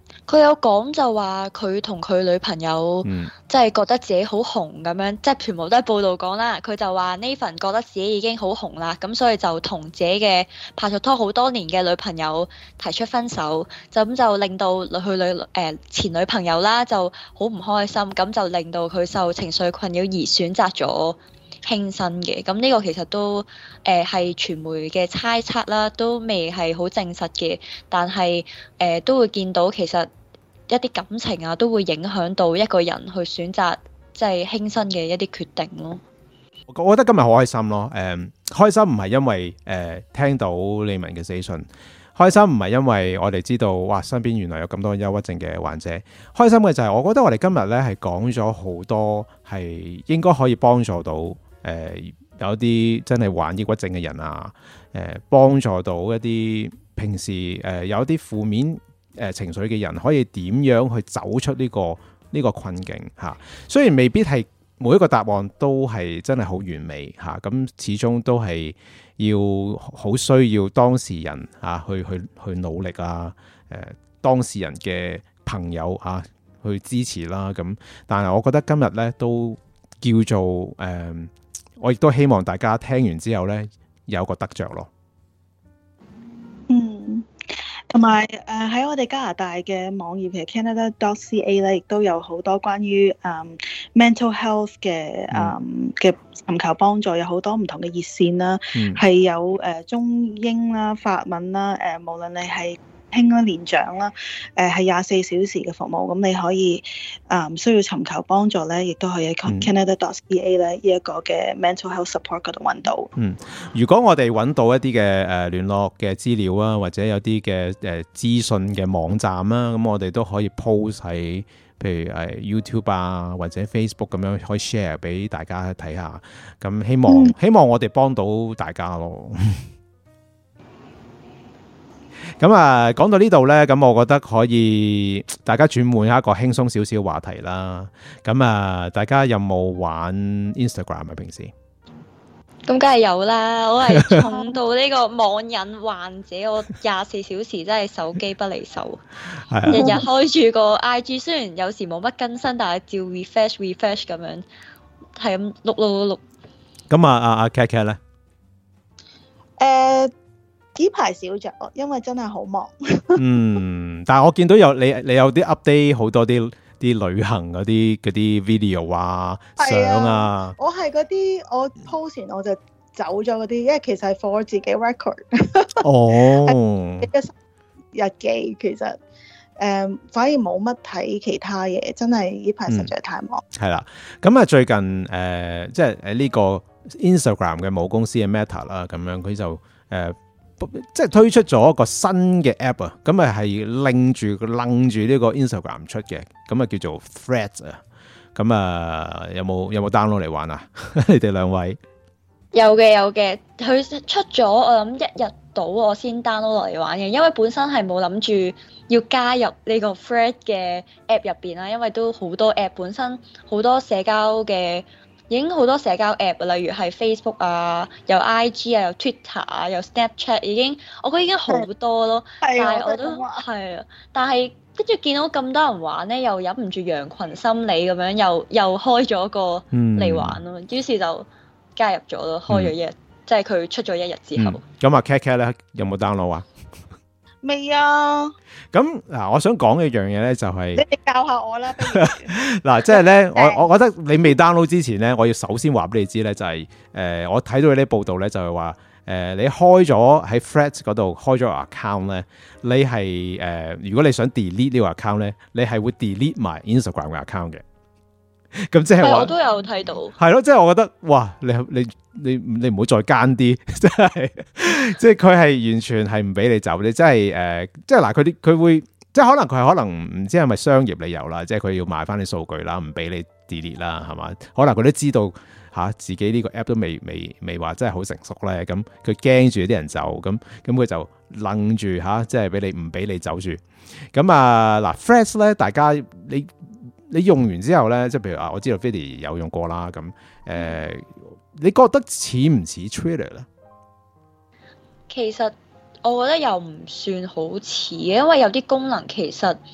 佢有講就話佢同佢女朋友即係覺得自己好紅咁樣，即係全部都係報道講啦。佢就話 Nathan 覺得自己已經好紅啦，咁所以就同自己嘅拍咗拖好多年嘅女朋友提出分手，就令到佢前女朋友啦就好唔開心，咁就令到佢受情緒困擾而選擇咗輕生嘅。咁呢個其實都係傳媒嘅猜測啦，都未係好證實嘅，但係都會見到其實一啲感情啊都會影響到一個人去選擇即係輕生嘅一啲決定咯。 我覺得今日好開心咯，開心唔係因為聽到李玟嘅死訊，開心唔係因為我哋知道哇身邊原來有咁多憂鬱症嘅患者，開心嘅就係我覺得我哋今日咧係講咗好多係應該可以幫助到有啲真係患抑鬱症嘅人啊，幫助到一啲平時有啲負面情緒嘅人可以點樣去走出呢個困境嚇。雖然未必係每一個答案都係真係好完美嚇，咁始終都係要好需要當事人嚇去努力啊，當事人嘅朋友嚇去支持啦。咁但係我覺得今日咧都叫做我亦都希望大家聽完之後咧有個得着咯。 同埋喺我哋加拿大嘅網頁，其實 Canada.ca 咧，亦都有好多關於mental health 嘅尋求幫助，有好多唔同嘅熱線啦，係有中英啦、法文啦，無論你係輕啦、年長啦，係24小時嘅服務，咁你可以需要尋求幫助咧，亦都可以喺 Canada.ca 咧呢一個嘅 mental health support 嗰度揾到。 如果我哋揾到一啲嘅聯絡嘅資料啊，或者有啲嘅資訊嘅網站啊，咁我哋都可以 post 喺譬如YouTube 啊或者 Facebook 咁樣可以 share 俾大家睇下。咁希望我哋幫到大家咯。咁啊，講到呢度呢，咁我覺得可以大家轉換一個輕鬆少少話題啦。咁啊，大家有冇玩 Instagram 啊？平時咁梗係有啦，我係重到呢個網癮患者，我24小時真係手機不離手，日日開住個 IG， 雖然有時冇乜更新，但係照 refresh 咁樣，係咁碌。 咁阿 Kat Kat 咧？ 呢排少咗，因為真係好忙。 但係我見到你有啲 update 好多啲旅行嗰啲video 啊、相啊。 我係嗰啲我 post 完我就走咗嗰啲，因為其實係 for 自己 record。日記其實反而冇乜睇其他嘢，真係呢排實在太忙。係啦， 咁啊最近即係呢個 Instagram 嘅母公司嘅 Meta 啦，咁樣佢就即係推出咗一個新嘅 app 啊，咁啊係拎住呢個 Instagram 出嘅，咁啊叫做 Threads 啊，咁啊有冇 download 嚟玩啊？你哋兩位有嘅，佢出咗我諗一日到我先 download 落嚟玩嘅，因為本身係冇諗住要加入呢個 Threads 嘅 app 入邊啦，因為都好多 app 本身好多社交嘅。已經好多社交 app，例如係 Facebook 啊，有 IG 啊，有 Twitter 啊，有 Snapchat，我覺得已經好多咯。但係我都係啊，但係跟住見到咁多人玩咧，又忍唔住羊群心理咁樣，又開咗個嚟玩咯。於是就加入咗咯，開咗一日，即係佢出咗一日之後。 咁啊 Kat Kat 咧有冇 download 啊？ 未啊！ 咁嗱，我想講一樣嘢咧，就係你哋教下我啦。 嗱，即係咧，我覺得你未 download 之前咧，我要首先話俾你知咧，就係我睇到你啲報道咧，就係話你開咗喺 Threads 嗰度開咗個 account 咧，你係如果你想 delete 呢個 account 咧，你係會 delete 埋 Instagram 嘅 account 嘅。咁即係話， 我都有睇到。係咯，即係我覺得，哇！你唔好再奸啲，即係佢係完全係唔俾你走，你真係即係嗱，佢會即係可能唔知係咪商業理由啦，即係佢要賣翻啲數據啦，唔俾你 delete 啦，係嘛？可能佢都知道自己呢個 app 都未話真係好成熟咧，咁佢驚住啲人走，咁佢就愣住即係唔俾你走住。咁啊嗱 Threads 咧，大家你用完之後咧，即係譬如我知道 Vidi 有用過啦，咁你覺得似唔似 Twitter 咧？ 其實我覺得又唔算好似，因為有啲功能其實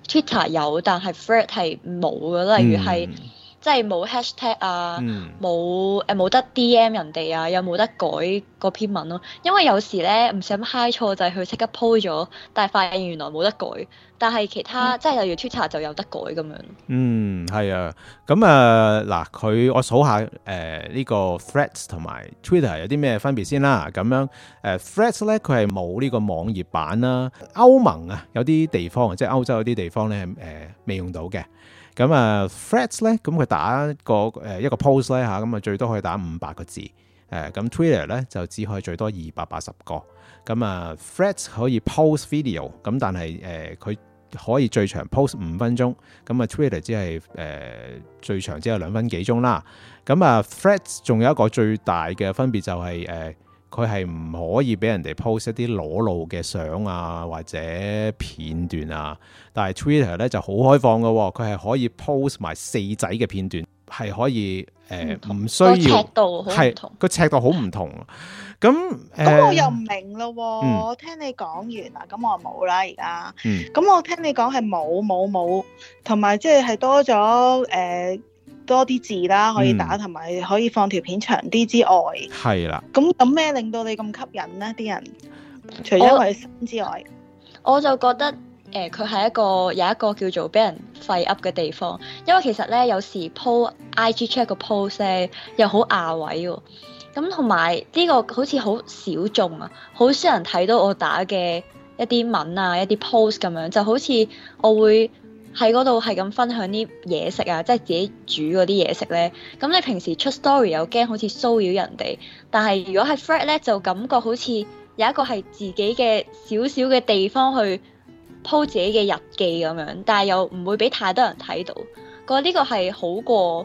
Twitter 有，但係 Thread 係冇嘅。例如係即係冇 hashtag 啊，冇得 DM 人哋啊，又冇得改嗰篇文咯。因為有時咧唔小心 high 錯就係佢即刻 po 咗，但係發現原來冇得改。但係其他即係例如 Twitter 就有得改咁樣。 係啊。咁嗱，我數下呢個 Threads 同埋 Twitter 有啲咩分別先啦。咁樣Threads 咧佢係冇呢個網頁版啦。歐盟啊有啲地方即係歐洲有啲地方咧未用到嘅。咁Threads 咧，咁佢打一個 post 咧嚇，咁最多可以打500個字。咁 Twitter 咧就只可以最多280個。咁Threads 可以 post video，咁但係佢可以最長 post 5分鐘。咁Twitter 只係最長只有2分幾鐘啦。咁Threads 仲有一個最大嘅分別就係佢係唔可以俾人哋 post 一啲裸露嘅相啊或者片段啊，但係 Twitter 咧就好開放嘅喎，佢係可以 post 埋4仔嘅片段，係可以唔需要尺度好唔同， 個尺度好唔同。咁我又唔明咯喎，我聽你講完啦，咁我冇啦而家。咁我聽你講係冇，同埋即係多咗多啲字啦，可以打，同埋可以放條片長啲之外， 係啦。 咁有咩令到你咁吸引呢？啲人除咗因為新之外， 我就覺得佢係有一個叫做俾人廢 up 嘅地方，因為其實咧有時 po IG check 個 post 咧又好牙位喎，咁同埋呢個好似好小眾啊，好少人睇到我打嘅一啲文啊、一啲 post 咁樣，就好似我會喺嗰度係咁分享啲嘢食啊，即係自己煮嗰啲嘢食咧。咁你平時出 story 又驚好似騷擾人哋，但係如果係 Thread 咧，就感覺好似有一個係自己嘅少少嘅地方去 po 自己嘅日記咁樣，但係又唔會俾太多人睇到。覺得呢個係好過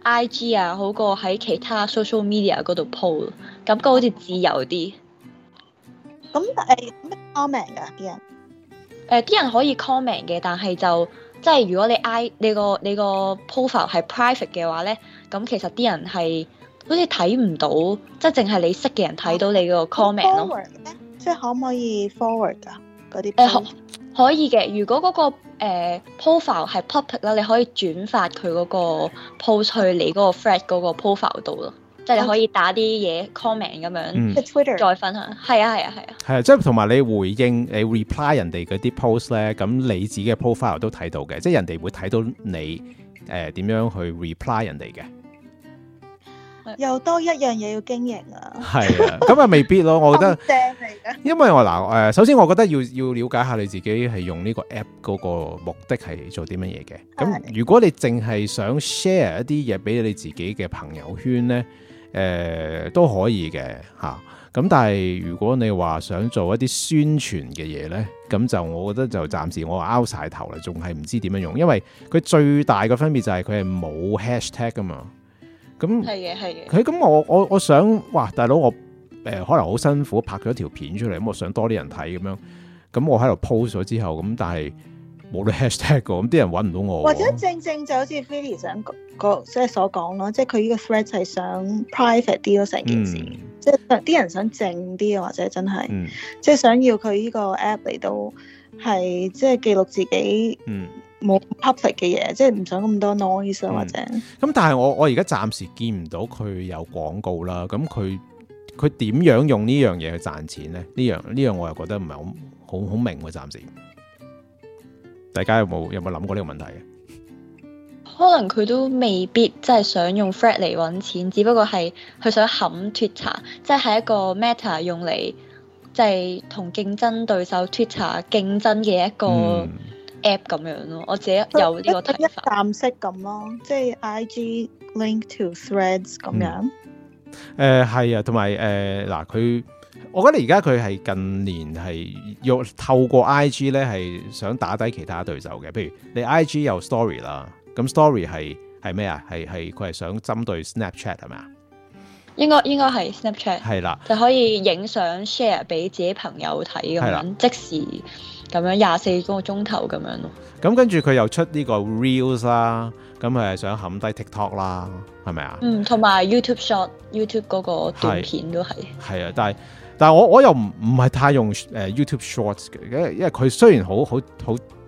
IG 啊，好過喺其他 social media 嗰度 po， 感覺好似自由啲。 咁但係咩 comment 㗎啲人？ 啲人可以 comment 嘅，但係就即係如果你個 profile 係 private 嘅話咧，咁其實啲人係好似睇唔到，即係淨係你識嘅人睇到你個 comment 咯。 即係可唔可以 forward 㗎嗰啲？ 可以嘅。如果嗰個profile 係 public 啦，你可以轉發佢嗰個 post 去你嗰個 Thread 嗰個 profile 度咯。即係你可以打啲嘢 comment 咁樣， 即係 Twitter 再分享。係啊， 即係同埋你回應你 reply 人哋嗰啲 post 咧，咁你自己嘅 profile 都睇到嘅，即係人哋會睇到你點樣去 reply 人哋嘅。 又多一樣嘢要經營啊！ 係啊，咁未必咯，我覺得。 正嚟嘅。因為我首先我覺得要了解下你自己係用呢個 app 嗰個目的係做啲乜嘢嘅。咁如果你淨係想 share 一啲嘢俾你自己嘅朋友圈咧，都可以嘅嚇。咁但係如果你話想做一啲宣傳嘅嘢咧，咁就我覺得就暫時我拗晒頭啦，仲係唔知點樣用，因為佢最大嘅分別就係佢係冇 hashtag 噶嘛。咁係嘅。 佢咁我想，哇！大佬我可能好辛苦拍咗條片出嚟，咁我想多啲人睇咁樣，咁我喺度 post 咗之後，咁但係冇咗 hashtag 㗎，咁啲人揾唔到我。 或者正就好似 Philly 想即係所講咯，即係佢呢個 thread 係想 private 啲咯，成件事，即係啲人想靜啲，或者真係，即係想要佢呢個 app 嚟到係即係記錄自己。冇 public 嘅嘢，即係唔想咁多 noise 或者。 咁但係我而家暫時見唔到佢有廣告啦。咁佢點樣用呢樣嘢去賺錢咧？呢樣我又覺得唔係好明喎。暫時，大家有冇諗過呢個問題？ 可能佢都未必真係想用 Thread 嚟揾錢，只不過係佢想冚 Twitter，即係一個 Meta 用嚟即係同競爭對手 Twitter 競爭嘅一個。app 咁樣咯，我自己有呢個睇法。一站式咁咯，即係 IG link to threads 咁樣。 係啊，同埋嗱，我覺得而家佢係近年係要透過 IG 咧，係想打低其他對手嘅。譬如你 IG 有 story 啦，咁 story 係咩啊？係佢係想針對 Snapchat 係咪啊？應該係 Snapchat 係啦，就可以影相 share 俾自己朋友睇咁樣，即時。咁樣24個鐘頭咁樣咯。咁跟住佢又出呢個 Reels 啦，咁係想冚低 TikTok 啦，係咪啊？同埋 YouTube Short、YouTube 嗰個短片都係。係啊，但係我又唔係太用YouTube Shorts 嘅，因為佢雖然好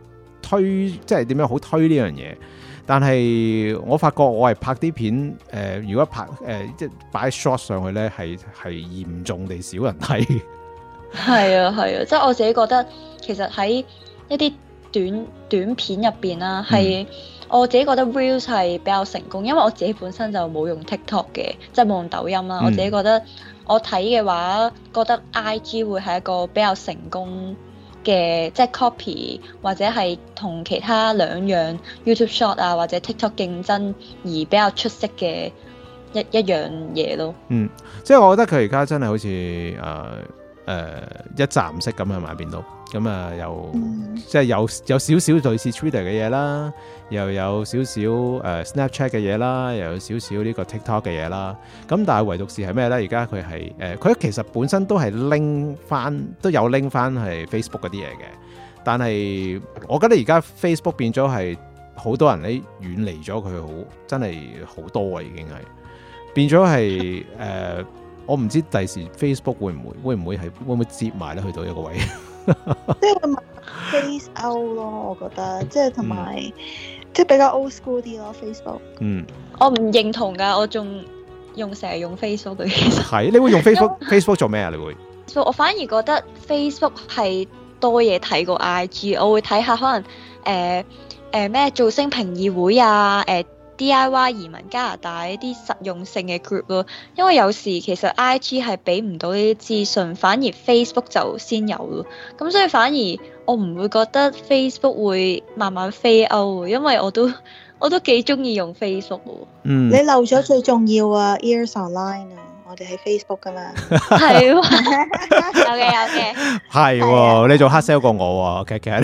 推，即係點樣好推呢樣嘢。但係我發覺我係拍啲片，如果拍即係擺 short 上去咧，係嚴重地少人睇。 係啊，即係我自己覺得，其實喺一啲短片入邊啦，係我自己覺得 Reels 係比較成功，因為我自己本身就冇用 TikTok 嘅，即係冇用抖音啦。我自己覺得我睇嘅話，覺得 IG 會係一個比較成功嘅，即係 copy 或者係同其他兩樣 YouTube Short 啊或者 TikTok 競爭而比較出色嘅一樣嘢咯。 即係我覺得佢而家真係好似一站式咁係咪變到咁啊？即係有少少類似 Twitter 嘅嘢啦，又有少少Snapchat 嘅嘢啦，又有少少呢個 TikTok 嘅嘢啦。咁但係唯獨是係咩咧？而家佢係佢其實本身都係拎翻係 Facebook 嗰啲嘢嘅，但係我覺得而家 Facebook 變咗係好多人咧遠離咗佢，好真係好多啊，已經係變咗係我唔知第時 Facebook 會唔會接埋咧去到一個位， 即係會 face out 咯，我覺得即係同埋即係比較 old school 啲咯 Facebook。 我唔認同㗎，我仲成日用 Facebook 嘅。其實係你會用 Facebook 做咩啊？你會？ 我反而覺得 Facebook 係多嘢睇過 IG， 我會睇下可能咩造星評議會啊DIY 移民加拿大一啲實用性嘅 group 咯，因為有時其實 IG 係俾唔到呢啲資訊，反而 Facebook 就先有咯。咁所以反而我唔會覺得 Facebook 會慢慢 fade out，因為我都幾中意用 Facebook 喎。 你漏咗最重要啊 Ears Online 啊！我哋喺 Facebook 噶嘛， 係有嘅， 係喎，你做 hard sell 過我喎，Kat。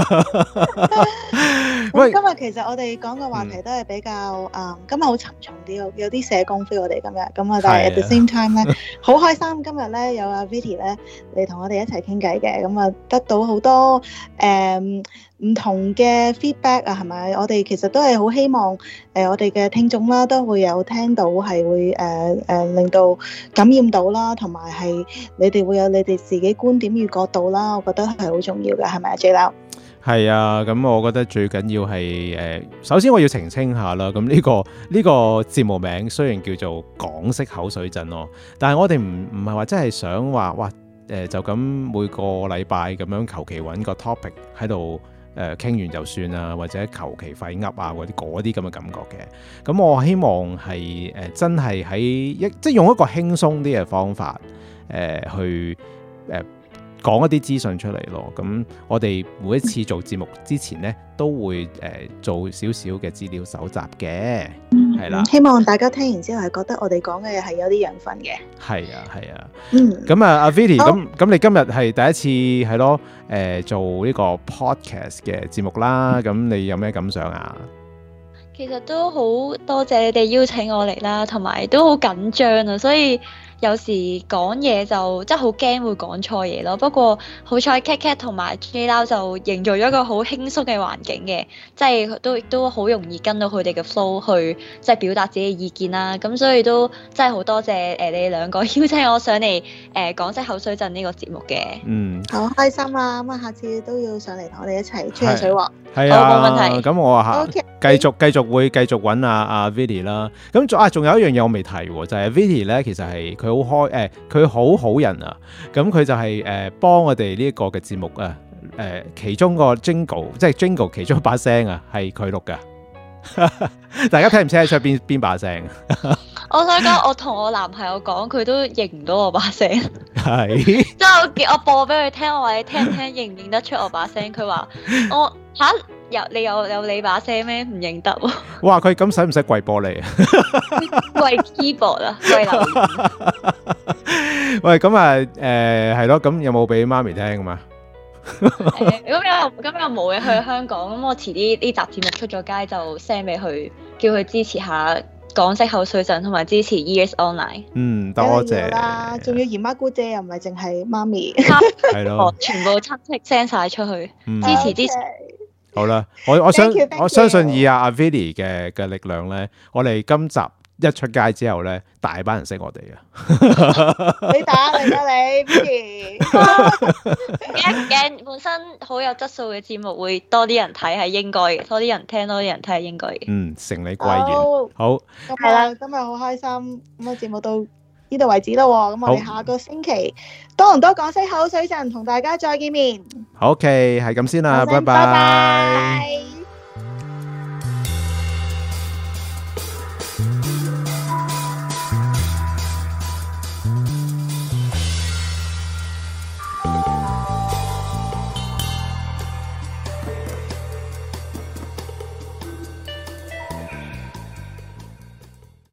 喂，今日其實我哋講嘅話題都係比較今日好沉重啲，有啲社工 feel 我哋今日咁啊，但係 at the same time 咧，好開心今日咧有阿 Viti 咧嚟同我哋一齊傾偈嘅，咁啊得到好多唔同嘅 feedback 啊，係咪？我哋其實都係好希望我哋嘅聽眾啦，都會有聽到係會令到感染到啦，同埋係你哋會有你哋自己觀點與角度啦，我覺得係好重要嘅，係咪啊 J Lau？ 係啊，咁我覺得最緊要係首先我要澄清下啦。咁呢個節目名雖然叫做港式口水陣咯，但係我哋唔係話真係想話哇就咁每個禮拜咁樣求其揾個 topic 喺度傾完就算啊，或者求其廢噏啊嗰啲咁嘅感覺嘅。咁我希望係真係喺即係用一個輕鬆啲嘅方法去講一啲資訊出嚟咯，咁我哋每一次做節目之前呢，都會做少少嘅資料搜集嘅，係啦。希望大家聽完之後係覺得我哋講嘅嘢係有啲養分嘅。係啊。咁啊，阿 Viti，咁你今日係第一次係咯，做呢個 podcast 嘅節目啦，咁你有咩感想啊？ 其實都好多謝你哋邀請我嚟啦，同埋都好緊張啊，所以有時講嘢就真係好驚會講錯嘢咯。不過好彩 Kat 同埋 J Lau 就營造咗一個好輕鬆嘅環境嘅，即係都好容易跟到佢哋嘅 flow 去即係表達自己嘅意見啦。咁所以都真係好多謝你哋兩個邀請我上嚟港式口水陣呢個節目嘅。好開心啊！咁啊，下次都要上嚟同我哋一齊吹下水喎。係啊，冇問題。咁我下繼續會繼續揾阿 Viti 啦。咁仲有一樣嘢我未提喎，就係 Viti 咧，其實係佢好開佢好好人啊。咁佢就係幫我哋呢一個嘅節目啊，其中個 Jingle 即係 Jingle 其中一把聲啊，係佢錄噶。大家聽唔聽得出邊把聲？我想講，我同我男朋友講，佢都認唔到我把聲。係，即係我播俾佢聽，我話你聽唔聽，認唔認得出我把聲？佢話我你有你把聲咩？唔認得喎。哇！佢咁使唔使跪玻璃啊？跪 keyboard 啊，跪留言。喂，咁啊，係咯，咁有冇俾媽咪聽㗎嘛？咁又冇嘅，去香港，咁我遲啲呢集節目出咗街就 send 俾佢，叫佢支持下港式口水陣，同埋支持 Ears Online。多謝啦，仲要姨媽姑姐又唔係淨係媽咪，係咯，全部親戚 send 晒出去，支持。好啦，我相信以阿 Viti 嘅力量咧，我哋今集一出街之後咧，大班人識我哋啊！ 你打嚟啦你 Vicky 唔驚，本身好有質素嘅節目會多啲人睇係應該嘅，多啲人聽，多啲人睇係應該嘅。 承你貴言。好， 係啦，今日好開心，咁啊節目到呢度為止咯。咁我哋下個星期多倫多港式口水陣同大家再見面。 OK，係咁先啦，拜拜。 拜拜。